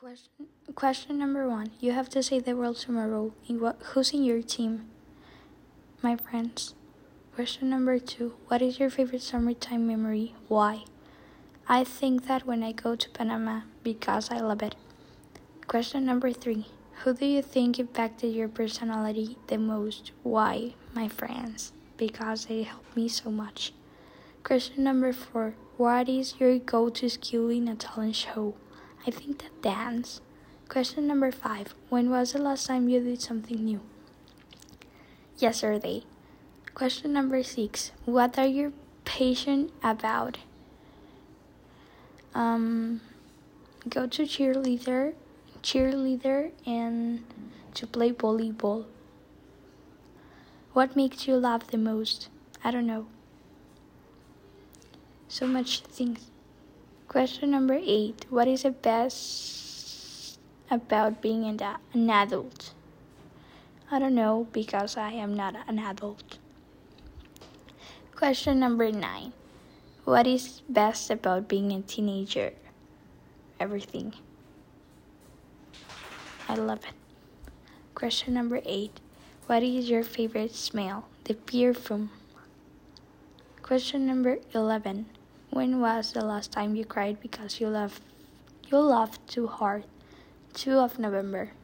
Question number 1. You have to save the world tomorrow. Who's in your team? My friends. Question number 2. What is your favorite summertime memory? Why? I think that when I go to Panama because I love it. Question number 3. Who do you think impacted your personality the most? Why? My friends. Because they helped me so much. Question number 4. What is your go-to skill in a talent show? I think that dance. Question number 5. When was the last time you did something new? Yesterday. Question number 6. What are you passionate about? Go to cheerleader and to play volleyball. What makes you laugh the most? I don't know. So much things. Question number 8. What is the best about being an adult? I don't know because I am not an adult. Question number 9. What is best about being a teenager? Everything. I love it. Question number 8. What is your favorite smell? The perfume. Question number 11. When was the last time you cried because you laughed too hard? 2 of November.